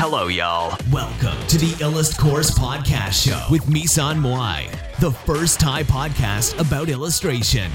Hello, y'all. Welcome to the Illust Course Podcast Show with Misan Moai, the first Thai podcast about illustration.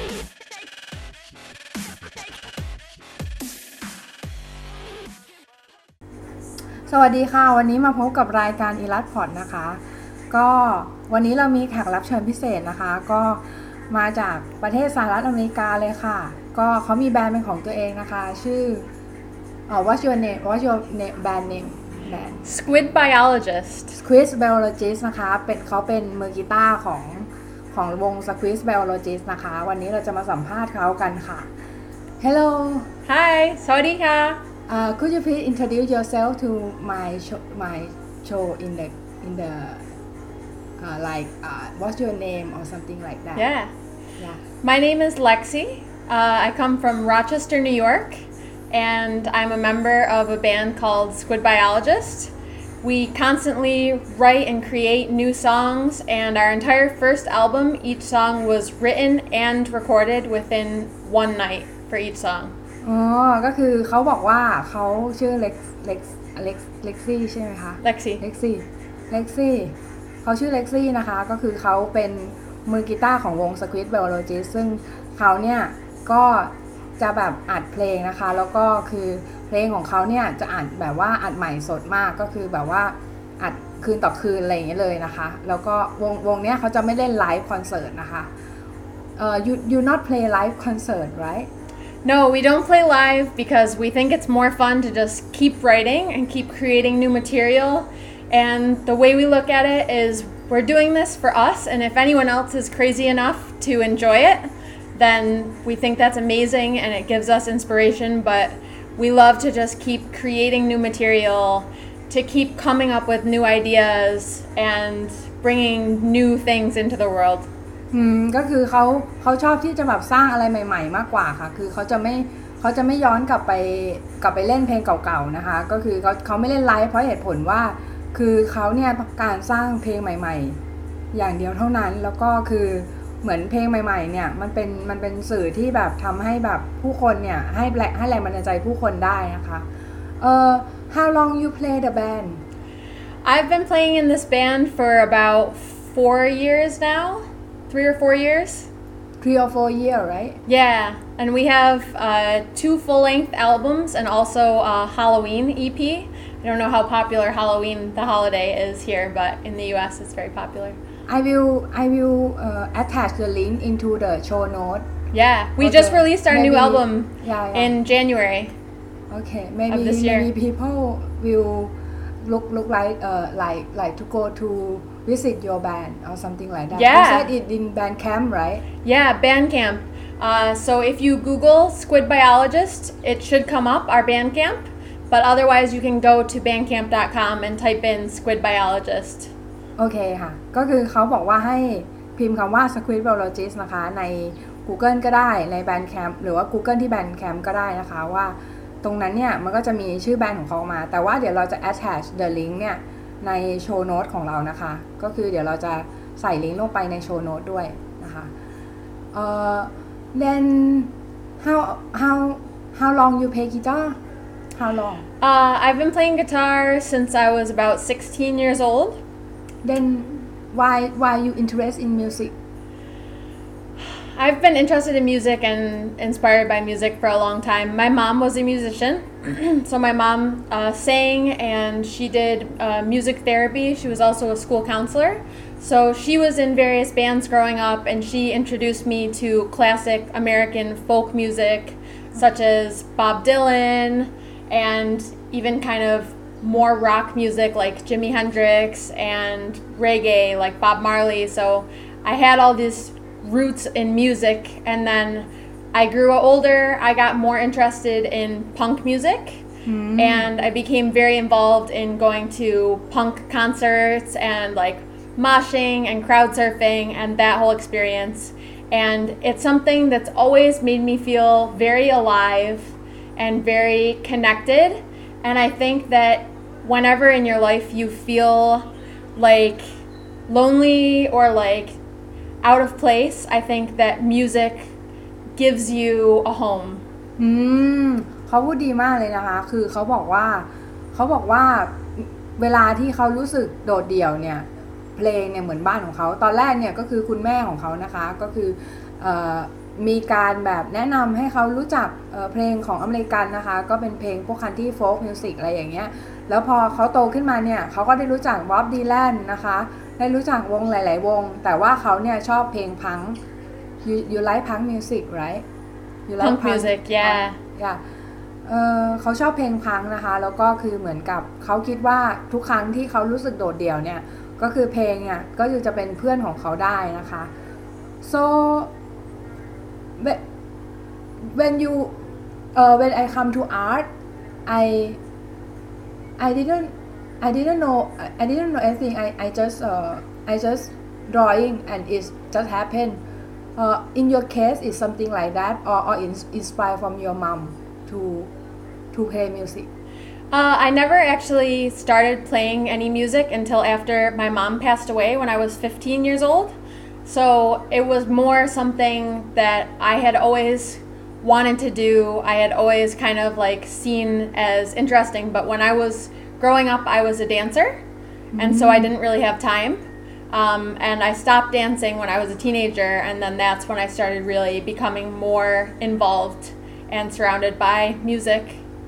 สวัสดีค่ะวันนี้มาพบกับรายการ Illust Pod นะคะก็วันนี้เรามีแขกรับเชิญพิเศษนะคะก็มาจากประเทศสหรัฐอเมริกาเลยค่ะก็เขามีแบรนด์เป็นของตัวเองนะคะชื่อWhat's your name band name band Squid Biologist Squid Biologist นะคะเขาเป็นมือกีตาร์ของวง Squid Biologist นะคะวันนี้เราจะมาสัมภาษณ์เขากันค่ะ Hello Hi สวัสดีค่ะ Could you please introduce yourself to my show in the what's your name or something like that? Yeah. My name is Lexi. I come from Rochester, New York, and I'm a member of a band called Squid Biologist. We constantly write and create new songs, and our entire first album, each song was written and recorded within one night for each song. ก็คือเขาบอกว่าเขาชื่อเล็กซี่ใช่ไหมคะ เล็กซี่เขาชื่อเล็กซี่นะคะก็คือเขาเป็นมือกีตาร์ของวง Squid Biologist ซึ่งเขาเนี่ยก็จะแบบอัดเพลงนะคะแล้วก็คือเพลงของเขาเนี่ยจะอัดแบบว่าอัดใหม่สดมากก็คือแบบว่าอัดคืนต่อคืนอะไรอย่างเงี้ยเลยนะคะแล้วก็วงเนี้ยเขาจะไม่เล่นไลฟ์คอนเสิร์ตนะคะyou not play live concert right?No, we don't play live because we think it's more fun to just keep writing and keep creating new material. And the way we look at it is we're doing this for us, and if anyone else is crazy enough to enjoy it, then we think that's amazing and it gives us inspiration, but we love to just keep creating new material, to keep coming up with new ideas and bringing new things into the world. ก็คือเขาชอบที่จะแบบสร้างอะไรใหม่ๆมากกว่าค่ะคือเขาจะไม่ย้อนกลับไปเล่นเพลงเก่าๆนะคะก็คือเขาไม่เล่นไลฟ์เพราะเหตุผลว่าคือเขาเนี่ยต้องการสร้างเพลงใหม่ๆอย่างเดียวเท่านั้นแล้วก็คือเหมือนเพลงใหม่ๆเนี่ยมันเป็นสื่อที่แบบทำให้แบบผู้คนเนี่ยให้แรงบันดาลใจผู้คนได้นะคะHow long you play the band? I've been playing in this band for about 4 years now.3 or 4 years. 3 or 4 years, right? Yeah, and we have 2 full-length albums and also a Halloween EP. I don't know how popular Halloween, the holiday, is here, but in the US it's very popular. I will attach the link into the show note. Yeah, we just released our new album in January. Okay, of this year. Maybe people will look like to go to.visit your band or something like that. Yeah. You said it in Bandcamp, right? Yeah, Bandcamp. So if you Google Squid Biologist, it should come up, our Bandcamp. But otherwise, you can go to bandcamp.com and type in Squid Biologist. โอเคค่ะก็คือเขาบอกว่าให้พิมพ์คำว่า Squid Biologist นะคะใน Google ก็ได้ใน Bandcamp หรือว่า Google ที่ Bandcamp ก็ได้นะคะว่าตรงนั้นเนี่ยมันก็จะมีชื่อแบรนด์ของเขามาแต่ว่าเดี๋ยวเราจะ attach the link เนี่ยในโชว์โน้ตของเรานะคะก็คือเดี๋ยวเราจะใส่ลิงก์ลงไปในโชว์โน้ตด้วยนะคะthen how long you play guitar how long I've been playing guitar since I was about 16 years old. Then why you interested in music? I've been interested in music and inspired by music for a long time. My mom was a musician, so my mom sang and she did music therapy. She was also a school counselor. So she was in various bands growing up and she introduced me to classic American folk music such as Bob Dylan and even kind of more rock music like Jimi Hendrix and reggae like Bob Marley. So I had all these roots in music, and then I grew older. I got more interested in punk music, and I became very involved in going to punk concerts and like moshing and crowd surfing and that whole experience. And it's something that's always made me feel very alive and very connected. And I think that whenever in your life you feel like lonely or like out of place, I think that music gives you a home. เขาพูดดีมากเลยนะคะคือเขาบอกว่าเขาบอกว่าเวลาที่เขารู้สึกโดดเดี่ยวเนี่ยเพลงเนี่ยเหมือนบ้านของเขาตอนแรกเนี่ยก็คือคุณแม่ของเขานะคะก็คือมีการแบบแนะนำให้เขารู้จักเพลงของอเมริกันนะคะก็เป็นเพลงพวกคันทรีโฟล์กมิวสิกอะไรอย่างเงี้ยแล้วพอเขาโตขึ้นมาเนี่ยเขาก็ได้รู้จักบ๊อบดีแลนนะคะได้รู้จักวงหลายๆวงแต่ว่าเขาเนี่ยชอบเพลงพัง you like punk music right you like Punk music yeah เขาชอบเพลงพังนะคะแล้วก็คือเหมือนกับเขาคิดว่าทุกครั้งที่เขารู้สึกโดดเดี่ยวเนี่ยก็คือเพลงเนี่ยก็จะเป็นเพื่อนของเขาได้นะคะ so when you when I come to art I didn't know anything I just drawing and it just happened in your case is something like that or inspired from your mom to play music I never actually started playing any music until after my mom passed away when I was 15 years old. So it was more something that I had always wanted to do. I had always kind of like seen as interesting. But when I was growing up, I was a dancer. And so I didn't really have time. And I stopped dancing when I was a teenager. And then that's when I started really becoming more involved and surrounded by music.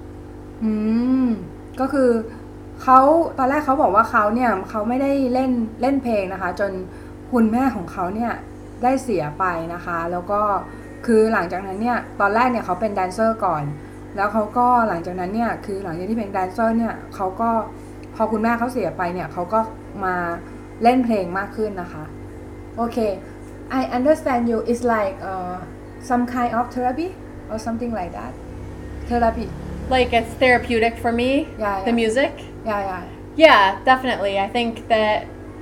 ก็คือเขาตอนแรกเขาบอกว่าเขาเนี่ยเขาไม่ได้เล่นเพลงนะคะจนคุณแม่ของเขาเนี่ยได้เสียไปนะคะแล้วก็คือหลังจากนั้นเนี่ยตอนแรกเนี่ยเขาเป็นแดนเซอร์ก่อนแล้วเขาก็หลังจากนั้นเนี่ยคือหลังจากที่เป็นแดนเซอร์เนี่ยเขาก็พอคุณแม่เขาเสียไปเนี่ยเขาก็มาเล่นเพลงมากขึ้นนะคะโอเค I understand you it's like some kind of therapy or something like that therapy Like it's therapeutic for me, the music. Yeah, definitely. I think that,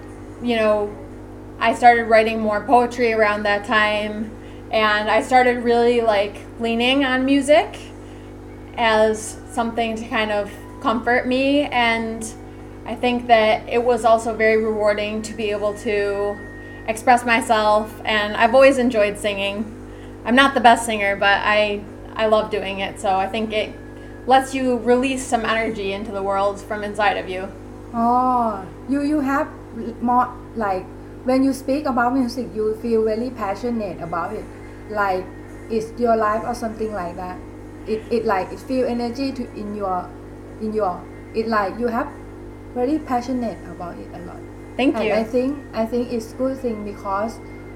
I started writing more poetry around that time, and I started really like leaning on music as something to kind of comfort me, and I think that it was also very rewarding to be able to express myself, and I've always enjoyed singing. I'm not the best singer, but I love doing it, so I think it lets you release some energy into the world from inside of you. You have more like when you speak about music you feel really passionate about it like it's your life or something like that it like it feel energy to in your it like you have very passionate about it a lot. Thank and you. I think it's good thing because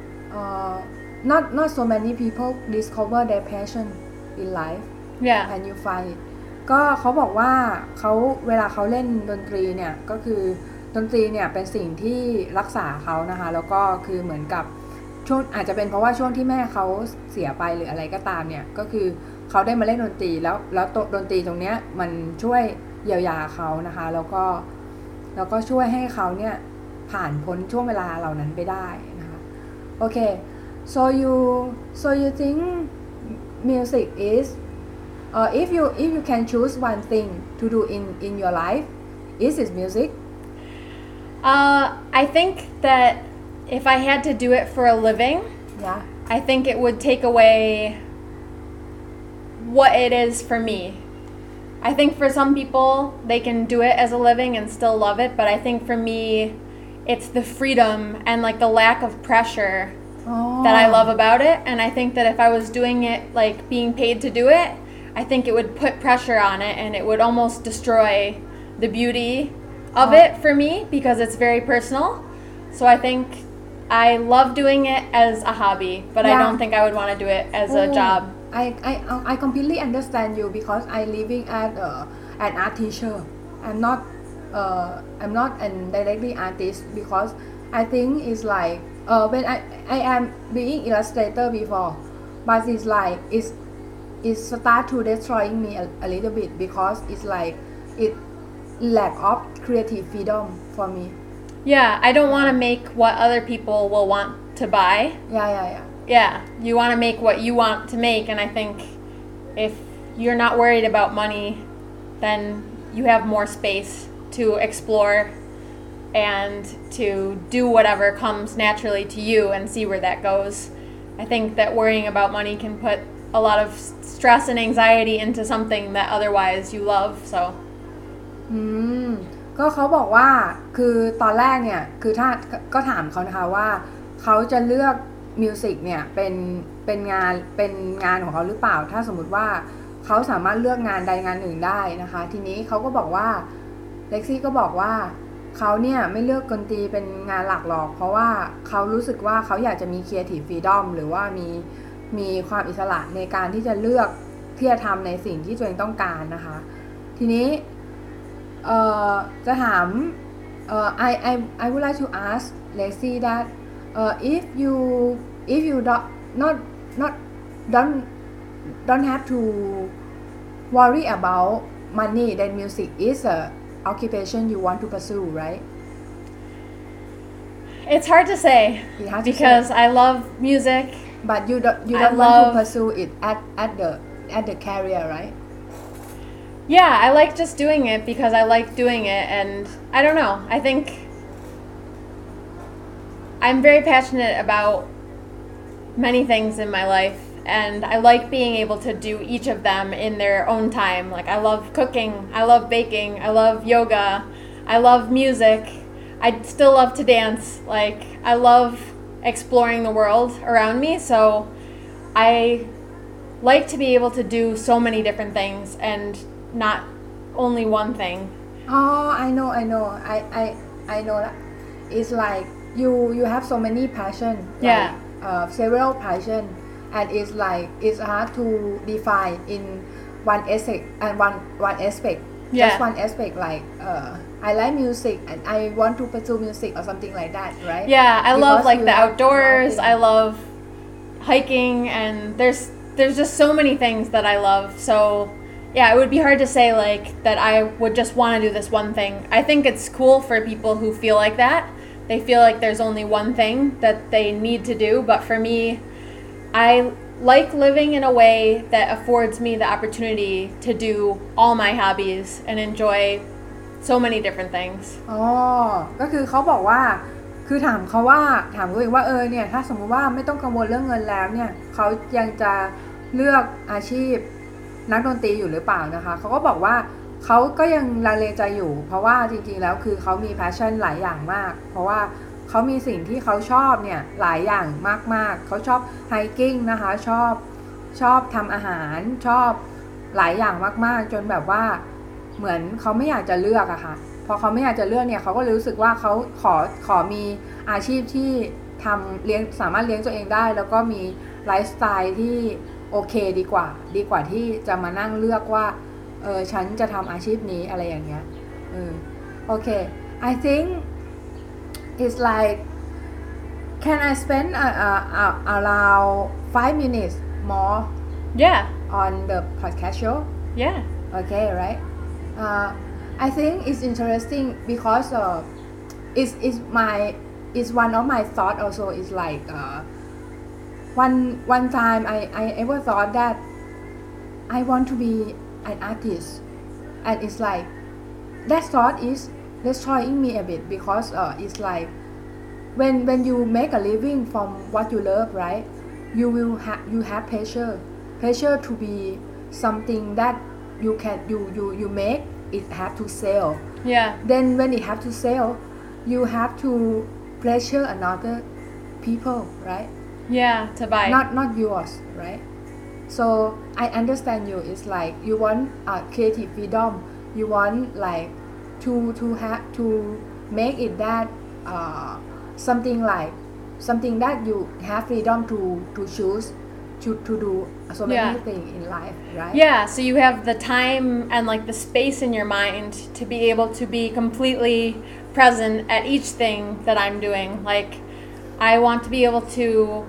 not so many people discover their passion in life Yeah. and you find itก็เขาบอกว่าเขาเวลาเขาเล่นดนตรีเนี่ยก็คือดนตรีเนี่ยเป็นสิ่งที่รักษาเขานะคะแล้วก็คือเหมือนกับช่วงอาจจะเป็นเพราะว่าช่วงที่แม่เขาเสียไปหรืออะไรก็ตามเนี่ยก็คือเขาได้มาเล่นดนตรีแล้วดนตรีตรงเนี้ยมันช่วยเยียวยาเขานะคะแล้วก็ช่วยให้เขาเนี่ยผ่านพ้นช่วงเวลาเหล่านั้นไปได้นะคะโอเค so you think music is if you can choose one thing to do in your life, is it music? I think that if I had to do it for a living, I think it would take away what it is for me. I think for some people, they can do it as a living and still love it, but I think for me, it's the freedom and like the lack of pressure that I love about it. And I think that if I was doing it, like being paid to do it, I think it would put pressure on it and it would almost destroy the beauty of it for me because it's very personal. So I think I love doing it as a hobby, but I don't think I would want to do it as a job. I completely understand you because I living at an art teacher. I'm not an directly artist because I think it's like when I am being illustrator before, but it's like it start to destroying me a little bit because it's like it lack of creative freedom for me. Yeah, I don't want to make what other people will want to buy. Yeah, you want to make what you want to make, and I think if you're not worried about money, then you have more space to explore and to do whatever comes naturally to you and see where that goes. I think that worrying about money can put a lot of stress and anxiety into something that otherwise you love, so อืมก็เขาบอกว่าคือตอนแรกเนี่ยคือถ้าก็ถามเขานะคะว่าเขาจะเลือกมิวสิกเนี่ยเป็นงานของเขาหรือเปล่าถ้าสมมุติว่าเขาสามารถเลือกงานใดงานหนึ่งได้นะคะทีนี้เขาก็บอกว่าเล็กซี่ก็บอกว่าเขาเนี่ยไม่เลือกดนตรีเป็นงานหลักหรอกเพราะว่าเขารู้สึกว่าเขาอยากจะมี creative freedom หรือว่ามีความอิสระในการที่จะเลือกที่จะทำในสิ่งที่ตัวเองต้องการนะคะทีนี้จะถามI would like to ask Lexi that if you not don't have to worry about money then music is a occupation you want to pursue right It's hard to say because I love music but you don't want to pursue it at the career right Yeah, I like just doing it because I like doing it, and I don't know. I think I'm very passionate about many things in my life, and I like being able to do each of them in their own time. Like, I love cooking, I love baking, I love yoga, I love music, I still love to dance. Like, I love exploring the world around me, so I like to be able to do so many different things and not only one thing. Oh, I know. I know that. It's like you have so many passion. Yeah. Several passion, and it's like it's hard to define in one aspect and one aspect. Yeah. Just one aspect. Like I like music and I want to pursue music or something like that, right? Yeah, I love Because like you the have outdoors. nothing. I love hiking, and there's just so many things that I love. So yeah, it would be hard to say like that I would just want to do this one thing. I think it's cool for people who feel like that. They feel like there's only one thing that they need to do, but for me, I like living in a way that affords me the opportunity to do all my hobbies and enjoy so many different things. อ๋อก็คือเขาบอกว่าคือถามตัวเองว่าเนี่ยถ้าสมมุติว่าไม่ต้องกังวลเรื่องเงินแล้วเนี่ยเขายังจะเลือกอาชีพนักดนตรีอยู่หรือเปล่านะคะเขาก็บอกว่าเขาก็ยังลังเลใจอยู่เพราะว่าจริงๆแล้วคือเขามี passion หลายอย่างมากเพราะว่าเขามีสิ่งที่เขาชอบเนี่ยหลายอย่างมากๆเขาชอบ hiking นะคะชอบทำอาหารชอบหลายอย่างมากๆจนแบบว่าเหมือนเขาไม่อยากจะเลือกอะค่ะพอเขาไม่อยากจะเลือกเนี่ยเขาก็รู้สึกว่าเขาขอมีอาชีพที่สามารถเลี้ยงตัวเองได้แล้วก็มีไลฟ์สไตล์ที่โอเคดีกว่าที่จะมานั่งเลือกว่าฉันจะทำอาชีพนี้อะไรอย่างเงี้ยโอเค I think it's like can I spend around 5 minutes more Yeah. on the podcast show Yeah. okay right I think it's interesting because it's one of my thought also is like one time I ever thought that I want to be an artist and it's like that thought is destroying me a bit because it's like when you make a living from what you love right you have pressure to be something that you make it have to sell Yeah. then when it have to sell you have to pressure another people right Yeah, to buy. not yours right so I understand you it's like you want creative freedom you want like to have to make it that something that you have freedom to choose to do so many Yeah. things in life right Yeah, so you have the time and like the space in your mind to be able to be completely present at each thing that I'm doing. Like, I want to be able to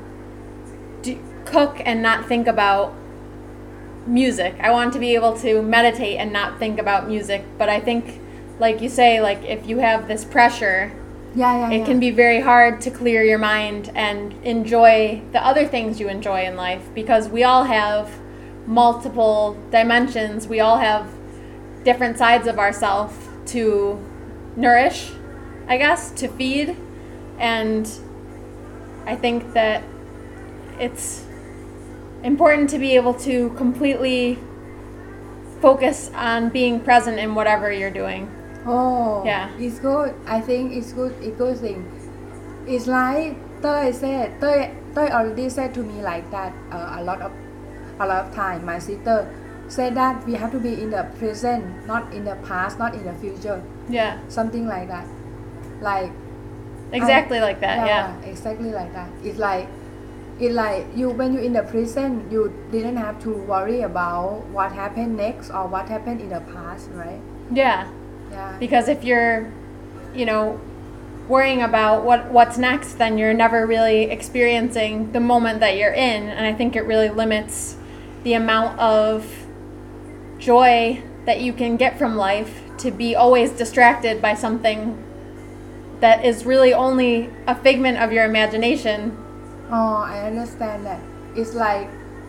cook and not think about music. I want to be able to meditate and not think about music. But I think, like you say, like if you have this pressure, yeah it can be very hard to clear your mind and enjoy the other things you enjoy in life because we all have multiple dimensions. We all have different sides of ourselves to nourish, I guess, to feed. And I think that it's important to be able to completely focus on being present in whatever you're doing. Oh, Yeah. it's good. I think it's good. It's good thing. It's like Tơi already said to me like that a lot of time. My sister said that we have to be in the present, not in the past, not in the future. Yeah. Something like that. Like Exactly like that. Yeah. Exactly like that. It's like you when you're in the present, you didn't have to worry about what happened next or what happened in the past, right? Yeah. Yeah. Because if you're, worrying about what's next, then you're never really experiencing the moment that you're in, and I think it really limits the amount of joy that you can get from life to be always distracted by something that is really only a figment of your imagination. Oh, I understand that. It's like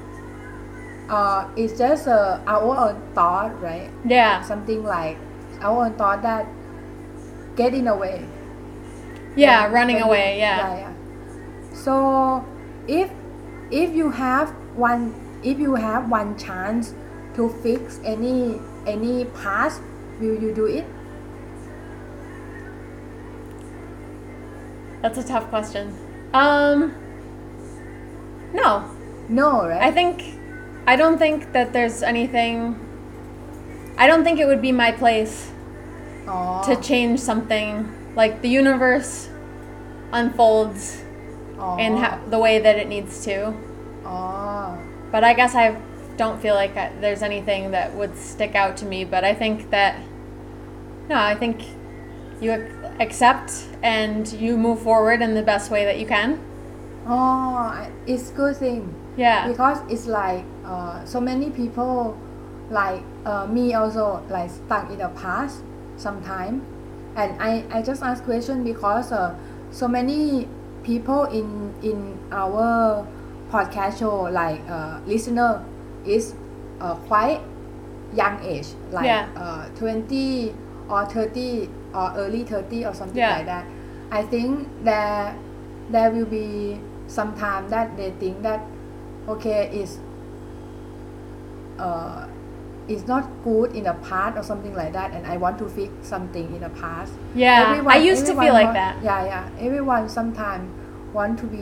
it's just our own thought, right? Yeah. Something like our own thought that get in the way. Yeah, running away. Yeah. So if you have one chance to fix any past, will you do it? That's a tough question. No. No, right? I don't think that there's anything. I don't think it would be my place to change something. Like the universe unfolds in the way that it needs to. But I guess I don't feel like there's anything that would stick out to me. But I think that I think you accept and you move forward in the best way that you can. Oh, it's good thing. Yeah. Because it's like so many people like me also like stuck in the past sometime, and I just ask question because so many people in our podcast show like listener is quite young age, like 20 or 30 or early 30 or something like that. I think there will be some time that they think that okay it's not good in the past or something like that, and I want to fix something in the past. Yeah, I used to feel like that. Yeah. Everyone sometimes want to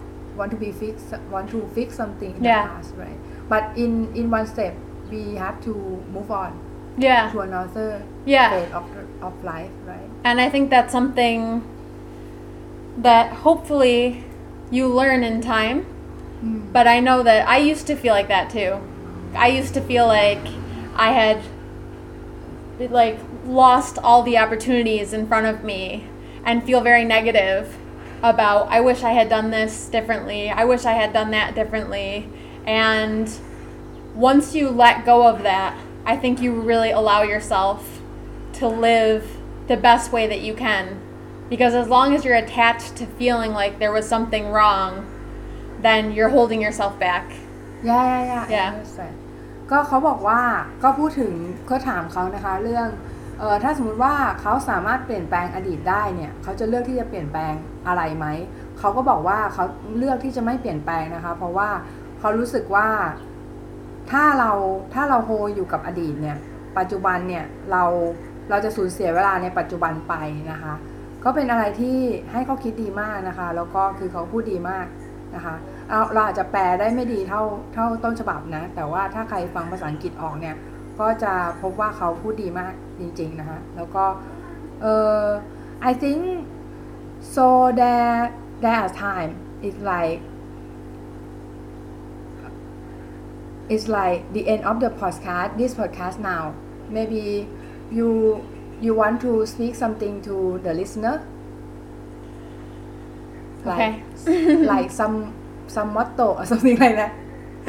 fix something in the past, right? But in one step, we have to move on. Yeah. To another phase of life, right? And I think that's something that hopefully you learn in time. But I know that I used to feel like that too. I used to feel like I had lost all the opportunities in front of me and feel very negative about I wish I had done this differently. I wish I had done that differently. And once you let go of that, I think you really allow yourself to live the best way that you can. Because as long as you're attached to feeling like there was something wrong, then you're holding yourself back. Yeah. ก็เขาบอกว่าก็พูดถึงก็ถามเขานะคะเรื่องถ้าสมมุติว่าเขาสามารถเปลี่ยนแปลงอดีตได้เนี่ยเขาจะเลือกที่จะเปลี่ยนแปลงอะไรไหมเขาก็บอกว่าเขาเลือกที่จะไม่เปลี่ยนแปลงนะคะเพราะว่าเขารู้สึกว่าถ้าเราโฮอยู่กับอดีตเนี่ยปัจจุบันเนี่ยเราจะสูญเสียเวลาในปัจจุบันไปนะคะก็เป็นอะไรที่ให้เขาคิดดีมากนะคะแล้วก็คือเขาพูดดีมากนะคะเราอาจจะแปลได้ไม่ดีเท่าต้นฉบับนะแต่ว่าถ้าใครฟังภาษาอังกฤษออกเนี่ยก็จะพบว่าเขาพูดดีมากจริงๆนะคะแล้วก็I think so there are time it's like the end of the this podcast now. Maybe you want to speak something to the listener, like some motto or something like that.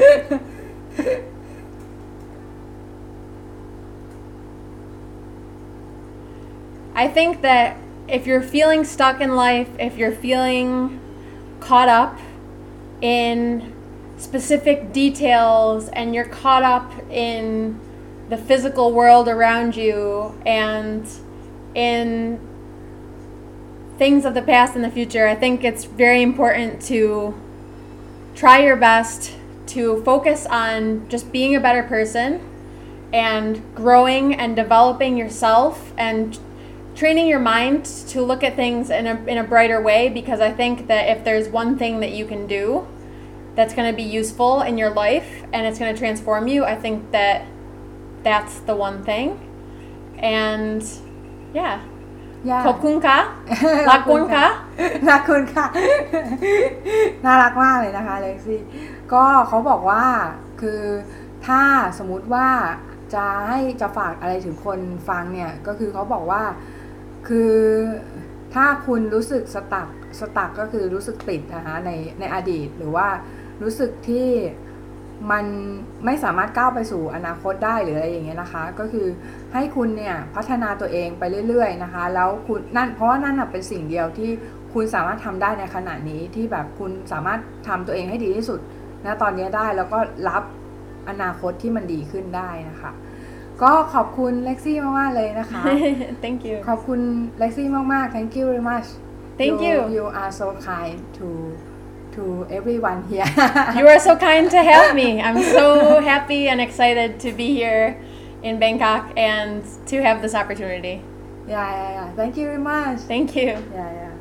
I think that if you're feeling stuck in life, if you're feeling caught up in specific details and you're caught up in the physical world around you and in things of the past and the future, I think it's very important to try your best to focus on just being a better person and growing and developing yourself and training your mind to look at things in a brighter way, because I think that if there's one thing that you can do that's going to be useful in your life and it's going to transform you, I think that that's the one thing. And yeah.ขอบคุณค่ะรักคุณค่ะรักคุณค่ะ น่ารักมากเลยนะคะเล็กซี่ก็เขาบอกว่าคือถ้าสมมุติว่าจะฝากอะไรถึงคนฟังเนี่ยก็คือเขาบอกว่าคือถ้าคุณรู้สึกสตักก็คือรู้สึกติดนะคะในอดีตหรือว่ารู้สึกที่มันไม่สามารถก้าวไปสู่อนาคตได้หรืออะไรอย่างเงี้ยนะคะก็คือให้คุณเนี่ยพัฒนาตัวเองไปเรื่อยๆนะคะแล้วคุณนั่นเพราะว่านั่นเป็นสิ่งเดียวที่คุณสามารถทำได้ในขณะนี้ที่แบบคุณสามารถทำตัวเองให้ดีที่สุดณตอนนี้ได้แล้วก็รับอนาคตที่มันดีขึ้นได้นะคะก็ขอบคุณเล็กซี่มากๆเลยนะคะ Thank you ขอบคุณเล็กซี่มากๆ Thank you very much Thank you You are so kind to everyone here You are so kind to have me. I'm so happy and excited to be here in Bangkok and to have this opportunity. Yeah. Thank you very much. Thank you. Yeah.